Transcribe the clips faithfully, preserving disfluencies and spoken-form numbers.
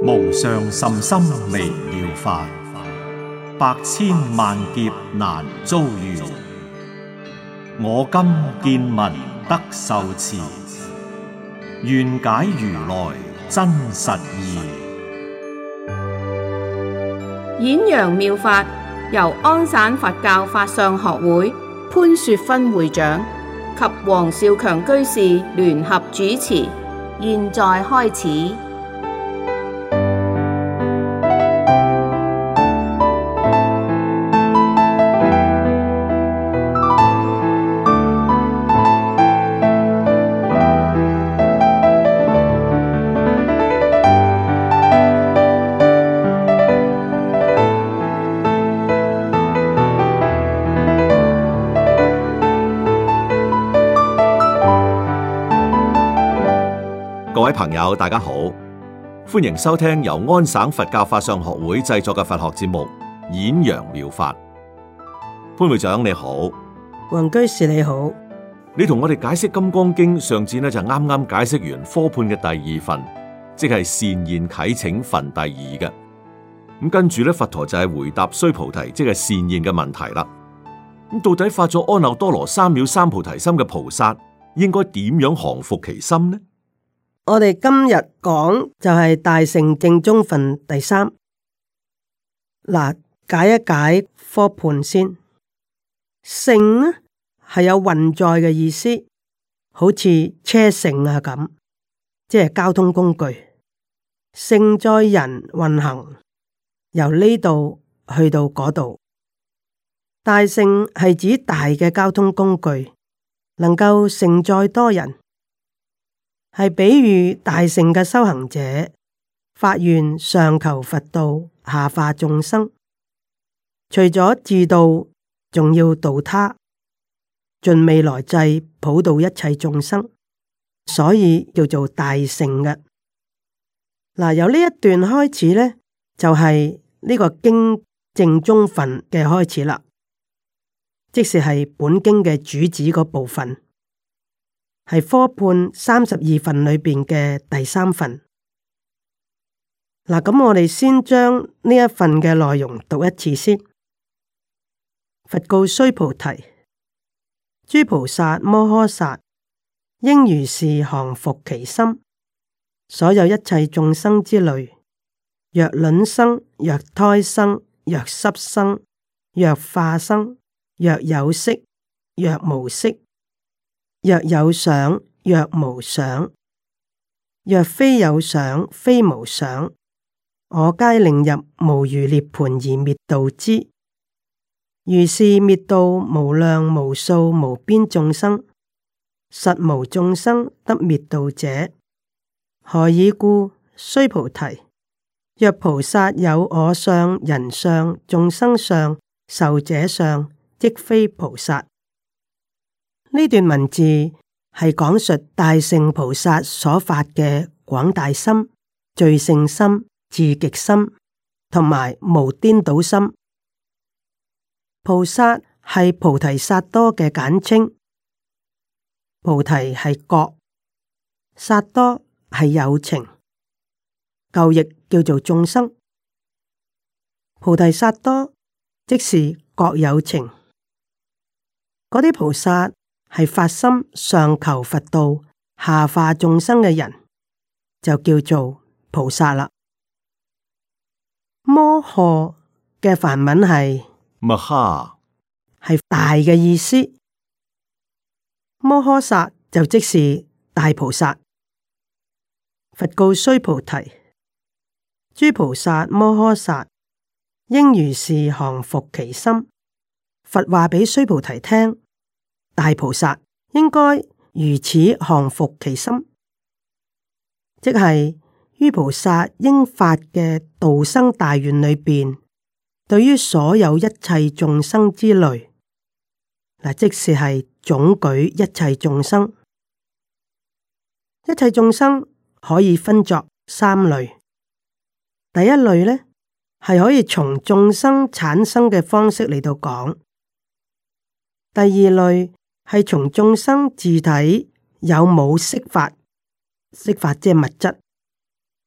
無上甚深微妙法，百千萬劫難遭遇。我今見聞得受持，願解如來真實義。 演揚妙法由安省佛教法相學會潘雪芬會長及黃少強居士聯合主持，現在開始。 各位朋友，大家好，歡迎收聽由安省佛教法相學會製作嘅佛學節目《演揚妙法》。潘會長你好， 黃居士你好。 你同我哋解釋《金剛經》，上次呢就啱啱解釋完科判嘅第二份，即係善現啟請分第二嘅。咁跟住咧，佛陀就係回答須菩提，即係善現嘅問題啦。咁到底發咗阿耨多羅三藐三菩提心嘅菩薩，應該點樣降伏其心呢？ 我哋今日講就係大乘正宗分第三。嗱，解一解科判先。乘呢係有運載嘅意思，好似車乘啊咁，即係交通工具，乘載人運行，由呢度去到嗰度。大乘係指大嘅交通工具，能夠乘載多人。係比喻大乘嘅修行者發願上求佛道，下化眾生，除咗自度，仲要度他，盡未來際普渡一切眾生，所以叫做大乘嘅。嗱，由呢一段開始呢，就係、是、呢個經正宗分嘅開始啦，即是係本經嘅主旨嗰部分。係科判三十二分裏邊嘅第三份。嗱，咁我哋先將呢一份嘅內容讀一次先。佛告須菩提：諸菩薩摩訶薩應如是降伏其心。所有一切眾生之類，若卵生，若胎生，若濕生，若化生，若有色，若無色。若有想，若無想，若非有想，非無想，我皆令入無餘涅槃而滅度之。如是滅度無量無數無邊眾生，實無眾生得滅度者。何以故？須菩提，若菩薩有我相、人相、眾生相、壽者相，即非菩薩。呢段文字係講述大乘菩薩所發嘅廣大心、最勝心、至極心同埋無顛倒心。菩薩係菩提薩埵嘅簡稱，菩提係覺，薩埵係有情，舊譯叫做眾生。菩提薩埵即是覺有情，嗰啲菩薩係發心上求佛道，下化眾生嘅人，就叫做菩薩啦。摩訶嘅梵文係 Maha， 係大嘅意思。摩訶薩就即是大菩薩。佛告須菩提：諸菩薩摩訶薩應如是降伏其心。佛話俾須菩提聽。大菩薩應該如此降伏其心，即係於菩薩應發嘅度生大願裏邊，對於所有一切眾生之類，嗱，即是係總舉一切眾生。一切眾生可以分作三類。第一類呢，係可以從眾生產生嘅方式嚟到講。第二類係從眾生自體有冇色法，色法即係物質，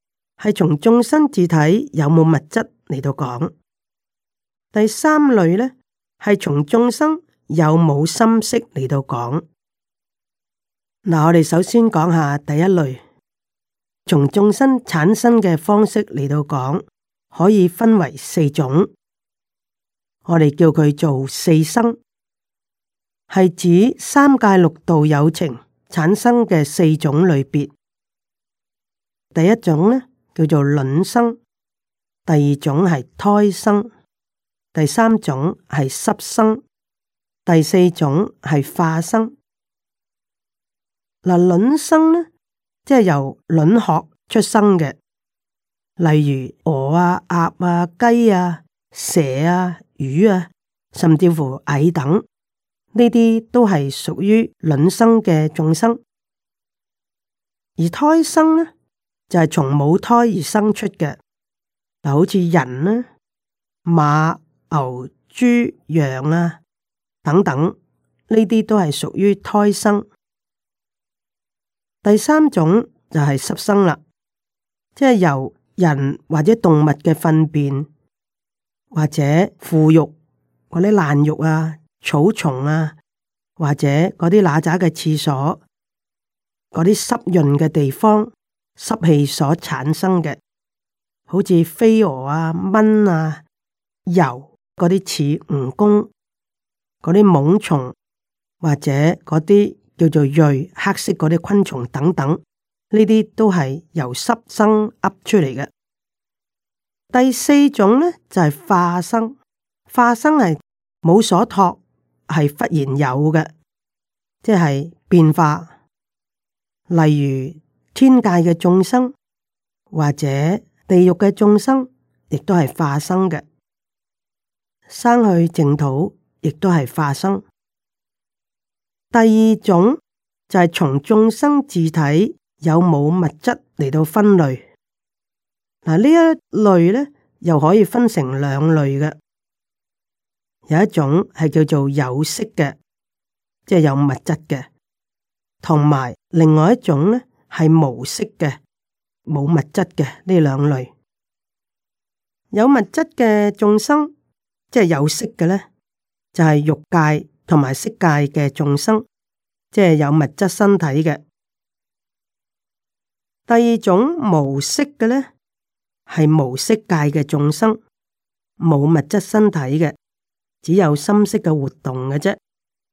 係從眾生自體有冇物質嚟到講；第三類呢，係從眾生有冇心識嚟到講。嗱，我哋首先講下第一類，從眾生產生嘅方式嚟到講，可以分為四種。我哋叫佢做四生，係指三界六道有情產生嘅四種類別。第一種呢，叫做卵生，第二種係胎生，第三種係濕生，第四種係化生。嗱，卵生呢，即係由卵殼出生嘅，例如鵝啊、鴨啊、雞啊、蛇啊、魚啊，甚至乎蟻等，呢啲都係屬於卵生嘅眾生。而胎生呢，就係從母胎而生出嘅，嗱，好似人呢、馬、牛、豬、羊啊等等，呢啲都係屬於胎生。第三種就係濕生啦，即係由人或者動物嘅糞便或者腐肉嗰啲爛肉啊、草叢啊，或者嗰啲乸喳嘅廁所、嗰啲濕潤嘅地方濕氣所產生嘅，好似飛蛾啊、蚊啊、蟯嗰啲似蜈蚣嗰啲蠓蟲，或者嗰啲叫做蚋黑色嗰啲昆蟲等等，呢啲都係由濕生噏出嚟嘅。第四種呢，就係、是、化生，化生係冇所託，係忽然有嘅，即係變化。例如天界嘅眾生或者地獄嘅眾生，亦都係化生嘅。生去淨土，亦都係化生。第二種就係從眾生自體有冇物質嚟到分類。嗱，呢一類咧又可以分成兩類嘅，有一種係叫做有色嘅，即係有物質嘅，同埋另外一種咧係無色嘅，冇物質嘅，呢兩類。有物質嘅眾生，即係有色嘅咧，就係欲界同埋色界嘅眾生，即係有物質身體嘅。第二種無色嘅咧，係無色界嘅眾生，冇物質身體嘅，只有心識嘅活動嘅啫。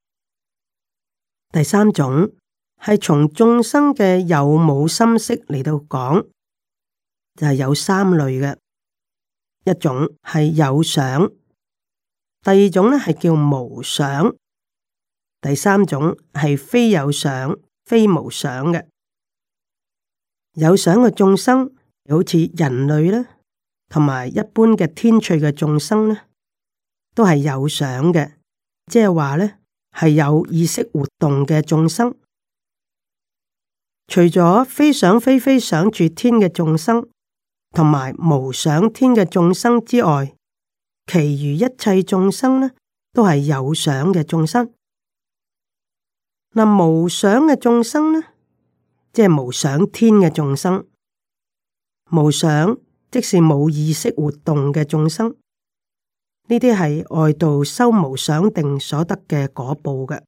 第三種係從眾生嘅有冇心識嚟到講，就係有三類嘅，一種係有想，第二種咧係叫無想，第三種係非有想非無想嘅。有想嘅眾生好似人類咧，同埋一般嘅天趣嘅眾生咧，都係有想嘅，即係話咧係有意識活動嘅眾生。除咗非想非非想住天嘅眾生，同埋無想天嘅眾生之外，其餘一切眾生呢，都係有想嘅眾生。嗱，無想嘅眾生呢，即係無想天嘅眾生，無想即是冇意識活動嘅眾生。呢啲係外道修無想定所得嘅果報嘅。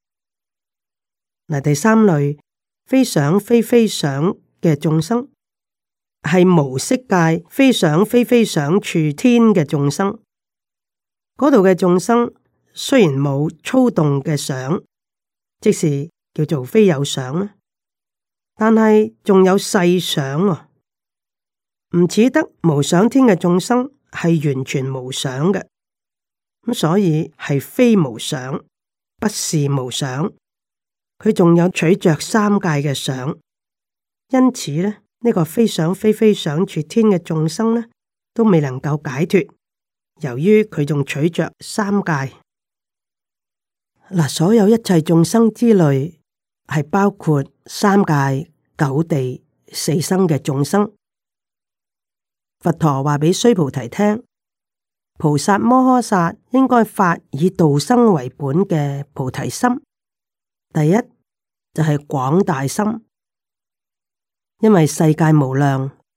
嗱，第三類非想非非想嘅眾生，係無色界非想非非想處天嘅眾生。嗰度嘅眾生雖然冇粗動嘅想，即是叫做非有想啦，但係仲有細想啊，唔似得無想天嘅眾生係完全無想嘅，咁所以係非無想，不是無想。佢仲有取着三界嘅想，因此咧，呢、這個非想非非想處天嘅眾生咧，都未能夠解脫。由於佢仲取着三界，嗱，所有一切眾生之類係包括三界、九地、四生嘅眾生。佛陀話俾須菩提聽，菩薩摩訶薩應該發以度生為本嘅菩提心。第一就係、是、廣大心，因為世界無量，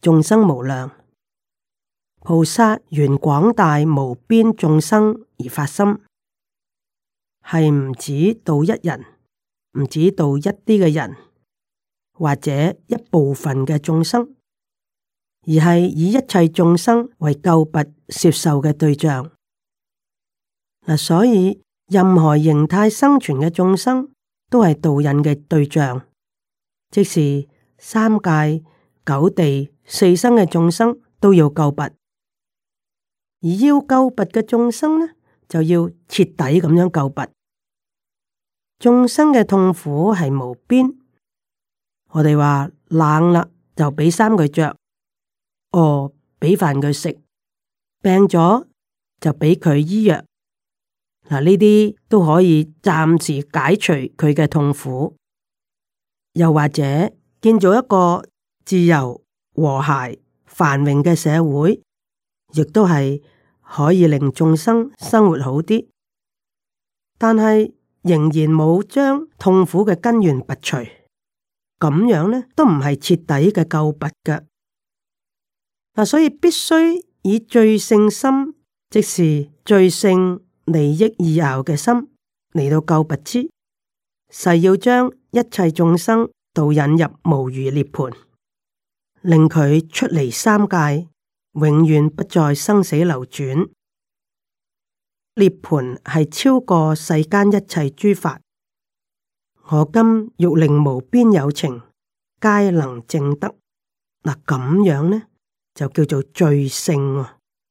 眾生無量。菩薩緣廣大無邊眾生而發心，係唔止度一人，唔止度一啲嘅人，或者一部分嘅眾生，而係以一切眾生為救拔攝受嘅對象。嗱，所以任何形態生存嘅眾生都係導引嘅對象，即是三界、九地、四生嘅眾生都要救拔，而要救拔嘅眾生呢，就要徹底咁樣救拔。眾生嘅痛苦係無邊，我哋話冷啦就俾衫佢着，餓俾飯佢食，病咗就俾佢醫藥。嗱，呢啲都可以暫時解除佢嘅痛苦，又或者建造一個自由、和諧、繁榮嘅社會，亦都係可以令眾生生活好啲。但係仍然冇將痛苦嘅根源拔除，咁樣呢都唔係徹底嘅救拔嘅。嗱，所以必須以最勝心，即是最勝利益意樂嘅心嚟到救拔之，誓要將一切眾生導引入無餘涅槃，令佢出離三界，永遠不再生死流轉。涅槃係超過世間一切諸法，我今欲令無邊有情皆能證得。嗱，咁樣呢就叫做最勝。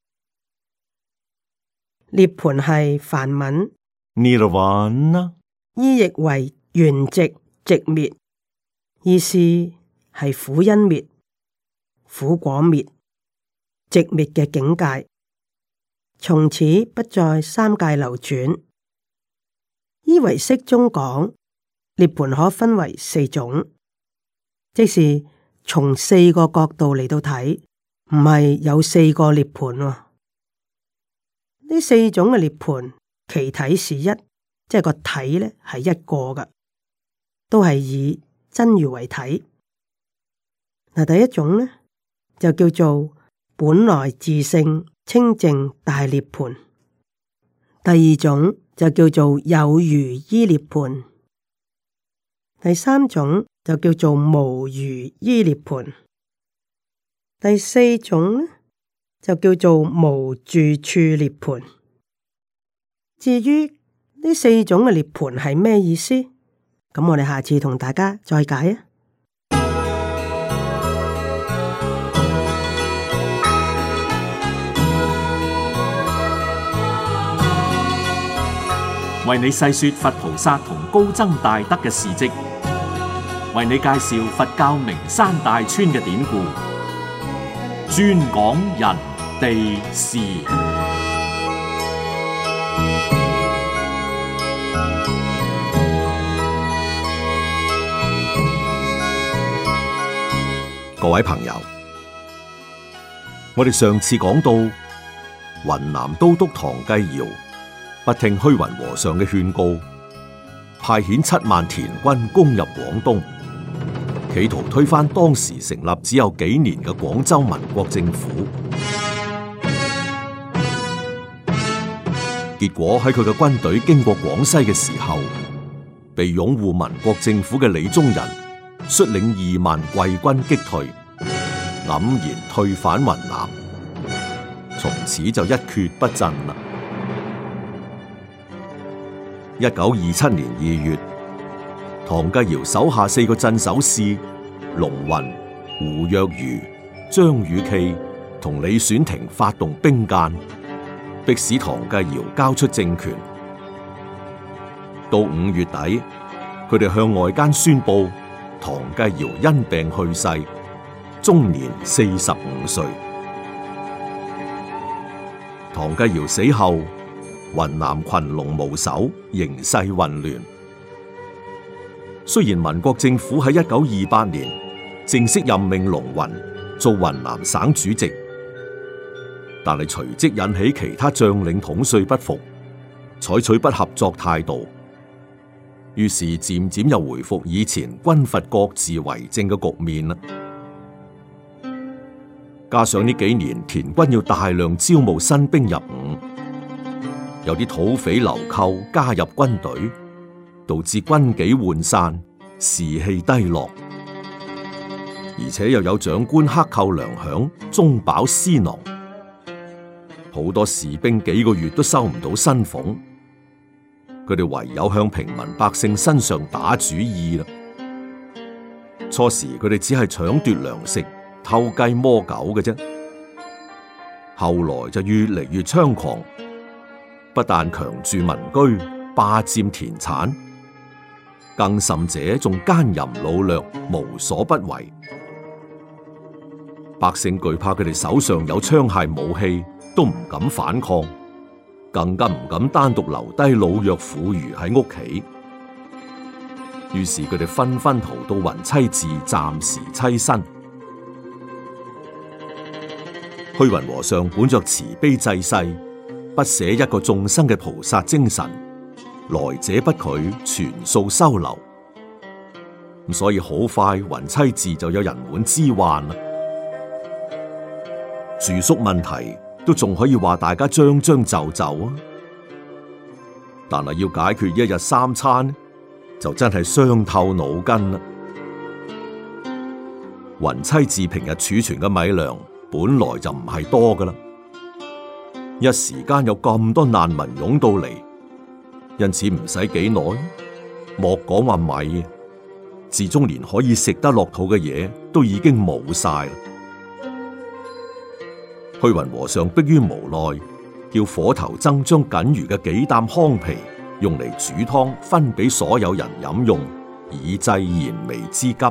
涅槃係梵文 Nirvana， 意譯為圓寂、寂滅，意思係苦因滅、苦果滅、寂滅嘅境界，從此不再三界流轉。依唯識中講，涅槃可分為四種，即是從四個角度嚟到睇，唔係有四個涅槃喎。呢四種嘅涅槃，其體是一，即係個體咧係一個嘅，都係以真如為體。嗱，第一種咧就叫做本來自性清淨大涅槃，第二種就叫做有餘依涅槃，第三種就叫做無餘依涅槃，第四種咧就叫做無住處涅槃。至於呢四種嘅涅槃係咩意思？咁我哋下次同大家再解啊！ 為你細說佛菩薩同高僧大德嘅事跡，為你介紹佛教名山大川嘅典故，專講人地事。 各位朋友，我哋上次講到雲南都督唐繼堯不聽虛雲和尚嘅勸告，派遣七萬田軍攻入廣東，企圖推翻當時成立只有幾年嘅廣州民國政府。結果喺佢嘅軍隊經過廣西嘅時候，被擁護民國政府嘅李宗仁率領二萬貴軍擊退，黯然退返雲南，從此就一蹶不振啦。一九二七年二月，唐繼堯手下四個鎮守使龍雲、胡若愚、張宇琪同李選廷發動兵諫，迫使唐繼堯交出政權。到五月底，佢哋向外間宣布唐繼堯因病去世，終年四十五歲。唐繼堯死後，雲南群龍無首，形勢混亂。雖然民國政府喺一九二八年正式任命龍雲做雲南省主席，但係隨即引起其他將領統帥不服，採取不合作態度，於是漸漸又回復以前軍閥各自為政嘅局面啦。 加上呢幾年田軍要大量招募新兵入伍，有啲土匪流寇加入軍隊，導致軍紀渙散，士氣低落。而且又有長官克扣糧餉，中飽私囊，好多士兵幾個月都收唔到薪俸，佢哋唯有向平民百姓身上打主意啦。初時佢哋只係搶奪糧食、偷雞摸狗嘅啫，後來就越嚟越猖狂，不但強住民居、霸佔田產，更甚者仲奸淫擄掠，無所不為。百姓懼怕佢哋手上有槍械武器，都唔敢反抗，更加唔敢單獨留低老弱婦孺喺屋企。於是佢哋紛紛逃到雲棲寺暫時棲身。虛雲和尚本着慈悲濟世、不捨一個眾生嘅菩薩精神，來者不拒，全數收留。咁所以好快雲棲寺就有人滿之患啦。住宿問題都仲可以話大家將將就就啊，但係要解決一日三餐，就真係傷透腦筋啦。雲棲寺平日儲存嘅米糧本來就唔係多噶啦，一時間有咁多難民湧到嚟，因此唔使幾耐，莫講話米，至終連可以食得落肚嘅嘢都已經冇晒啦。虛雲和尚迫於無奈，叫火頭僧將僅餘嘅幾擔糠皮用嚟煮湯，分俾所有人飲用，以濟燃眉之急。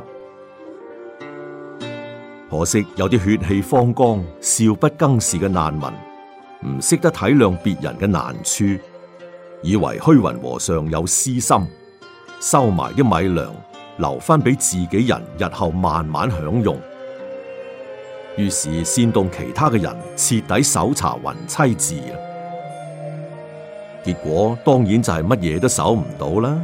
可惜有啲血氣方剛、少不更事嘅難民，唔識得體諒別人嘅難處，以為虛雲和尚有私心，收埋啲米糧，留翻俾自己人日後慢慢享用。於是煽動其他嘅人徹底搜查雲棲寺啦。結果當然就係乜嘢都搜唔到啦。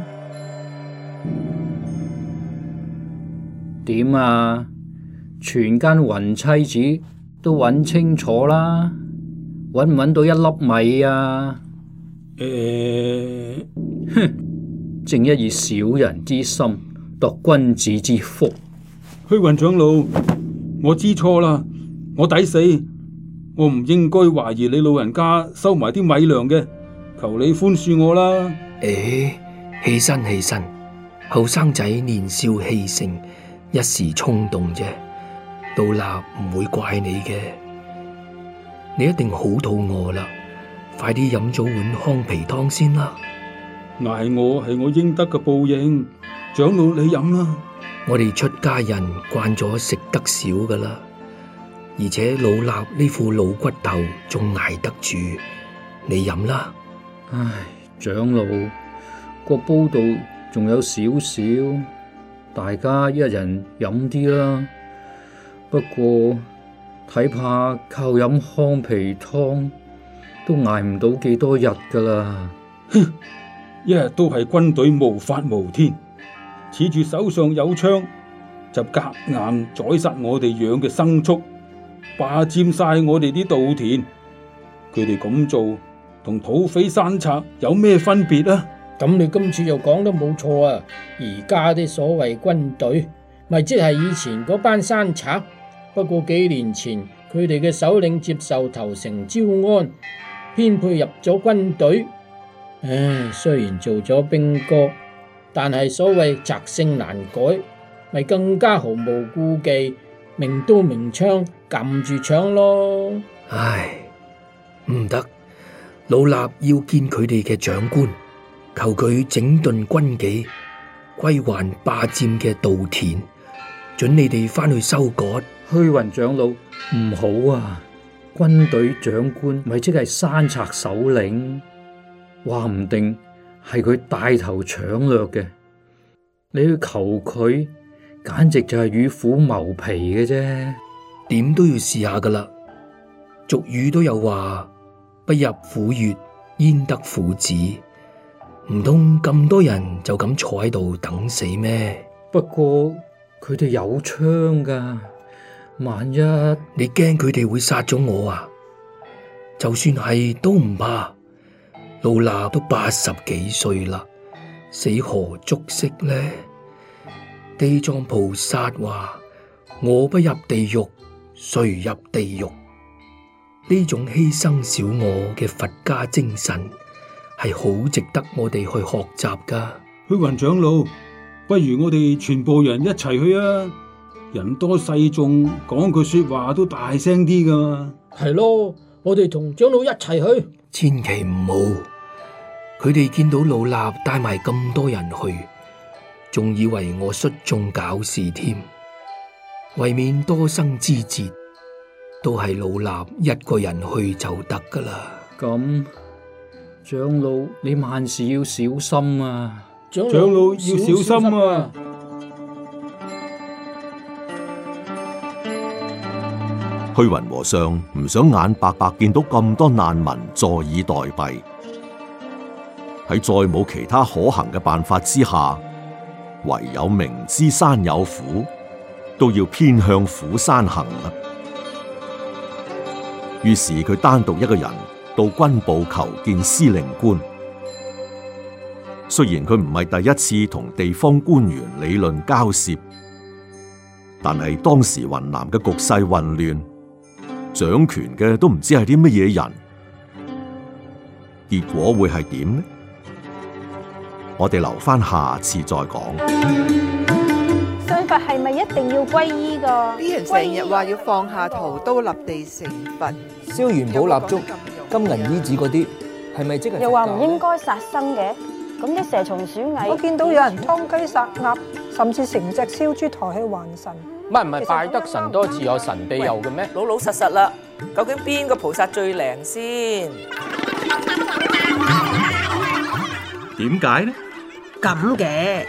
點啊？全間雲棲寺都揾清楚啦，揾唔揾到一粒米啊？誒、欸，哼！正一以小人之心度君子之腹。 虛雲長老，我知錯啦，我抵死，我唔應該懷疑你老人家收埋啲米糧嘅，求你寬恕我啦。 誒，起身起身，後生仔年少氣盛，一時衝動啫，老衲唔會怪你嘅。你一定好肚餓啦，快啲飲咗碗糠皮湯先啦。 挨我係我應得嘅報應，長老你飲啦。 我哋出家人慣咗食得少噶啦，而且老衲呢副老骨頭仲挨得住，你飲啦。 唉，長老，個煲度仲有少少，大家一人飲啲啦。不過睇怕靠飲糠皮湯都挨唔到幾多日噶啦。 哼，一日都係軍隊無法無天，恃住手上有槍，就夾硬宰殺我哋養嘅牲畜，霸佔晒我哋啲稻田。佢哋咁做同土匪山賊有咩分別啊？ 咁你今次又講得冇錯啊！而家啲所謂軍隊，咪即係以前嗰班山賊。不過幾年前佢哋嘅首領接受投誠招安，編配入咗軍隊。唉，雖然做咗兵哥，但係所謂擇性難改，咪更加毫無顧忌，明刀明槍撳住搶咯。 唉，唔得，老衲要見佢哋嘅長官，求佢整頓軍紀，歸還霸佔嘅稻田，准你哋翻去收割。 虛雲長老，唔好啊！軍隊長官咪即係山賊首領，話唔定係佢帶頭搶掠嘅。你去求佢，簡直就係與虎謀皮嘅啫。 點都要試下噶啦。俗語都有話，不入虎穴，焉得虎子。唔通咁多人就咁坐喺度等死咩？ 不過佢哋有槍噶。 萬一你驚佢哋會殺咗我啊？就算係都唔怕，老衲都八十幾歲啦，死何足惜呢？地藏菩薩話：我不入地獄，誰入地獄？呢種犧牲小我嘅佛家精神係好值得我哋去學習噶。 虛雲長老，不如我哋全部人一齊去啊！人多勢眾，講句說話都大聲啲噶嘛。 係咯，我哋同長老一齊去。 千祈唔好，佢哋見到老衲帶埋咁多人去，仲以為我率眾搞事添。為免多生枝節，都係老衲一個人去就得噶啦。 咁，長老你萬事要小心啊！ 長老要小心啊！ 虛雲和尚唔想眼白白見到咁多難民坐以待斃，喺再冇其他可行嘅辦法之下，唯有明知山有虎，都要偏向虎山行啦。於是佢單獨一個人到軍部求見司令官。雖然佢唔係第一次同地方官員理論交涉，但係當時雲南嘅局勢混亂，掌權嘅都唔知係啲乜嘢人，結果會係點呢？我哋留翻下，下次再講。 信佛係咪一定要皈依㗎？ 啲人成日話要放下屠刀立地成佛， 燒元寶蠟燭、金銀衣紙嗰啲，係咪即係？ 又話唔應該殺生嘅，咁啲蛇蟲鼠蟻， 我見到有人劏雞殺鴨，甚至成隻燒豬抬去還神。 唔係唔係，拜得神多自有神庇佑嘅咩？ 老老實實啦，究竟邊個菩薩最靈先？ 點解呢？ 咁嘅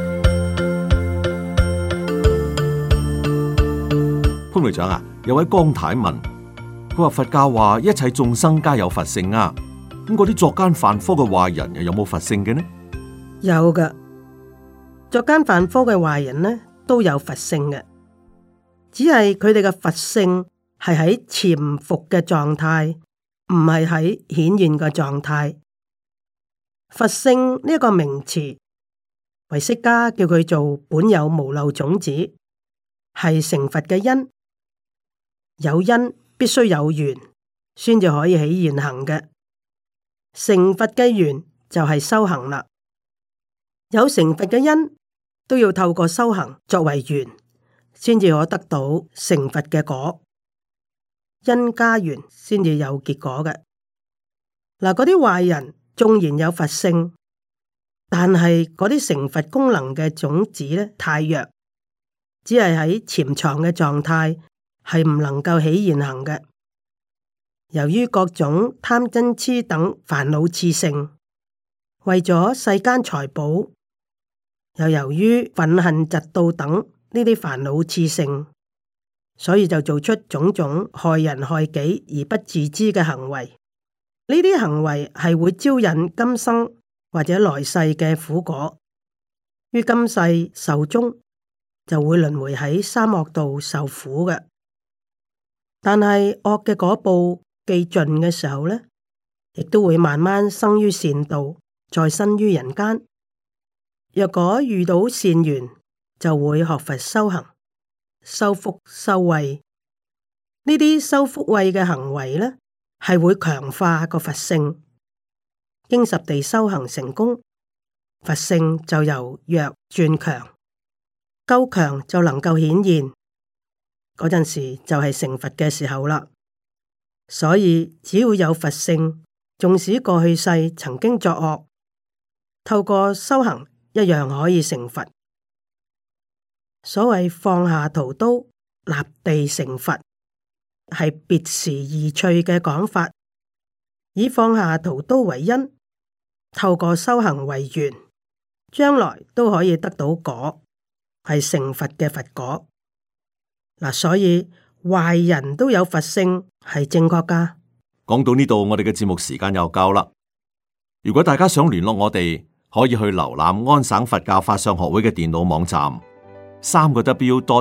潘會長啊，有位江太問，佢話佛教話一切眾生皆有佛性啊，咁嗰啲作奸犯科嘅壞人又有冇佛性嘅呢？ 有噶，作奸犯科嘅壞人呢都有佛性嘅，只係佢哋嘅佛性係喺潛伏嘅狀態，唔係喺顯現嘅狀態。佛性呢一個名詞，唯識家叫佢做本有無漏種子，係成佛嘅因。有因必須有緣，先至可以起現行嘅。成佛嘅緣就係修行啦。有成佛嘅因，都要透過修行作為緣，先至可得到成佛嘅果。因加緣先至有結果嘅。嗱，嗰啲壞人縱然有佛性，但係嗰啲成佛功能嘅種子咧太弱，只係喺潛藏嘅狀態，係唔能夠起現行嘅。由於各種貪嗔癡等煩惱熾盛，為咗世間財寶，又由於憤恨嫉妒等呢啲煩惱熾盛，所以就做出種種害人害己而不自知嘅行為。呢啲行為係會招引今生或者來世嘅苦果，於今世壽終就會輪迴喺三惡道受苦嘅。但係惡嘅果報既盡嘅時候呢，亦都會慢慢生於善道，再生於人間。若果遇到善緣，就會學佛修行，修福修慧。呢啲修福慧嘅行為呢，係會強化個佛性，經十地修行成功，佛性就由弱轉強，夠強就能夠顯現，嗰陣時就係成佛嘅時候啦。所以只要有佛性，縱使過去世曾經作惡，透過修行一樣可以成佛。所謂放下屠刀，立地成佛，係別時而趣嘅講法，以放下屠刀為因，透過修行為緣，將來都可以得到果，係成佛嘅佛果。嗱，所以壞人都有佛性，係正確噶。 講到呢度，我哋嘅節目時間又夠啦。如果大家想聯絡我哋，可以去瀏覽安省佛教法相學會嘅電腦網站，三個 W dot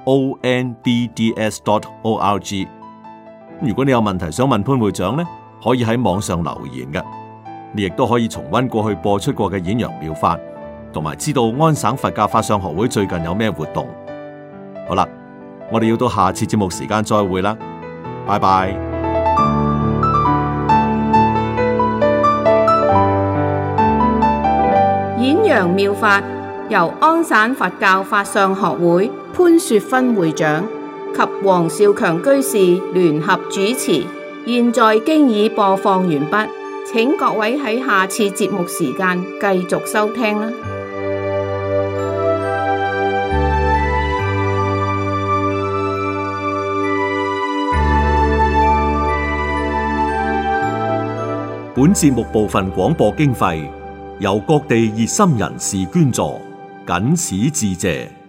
o n b d s dot o r g。如果你有問題想問潘會長呢，可以喺網上留言嘅。你亦都可以重溫過去播出過嘅演揚妙法，同埋知道安省佛教法相學會最近有咩活動。好啦，我哋要到下次節目時間再會啦，拜拜。 演揚妙法由安省佛教法相學會潘雪芬會長及黃少強居士聯合主持，現在經已播放完畢。請各位喺下次節目時間繼續收聽啦。 本節目部分廣播經費由各地熱心人士捐助，謹此致謝。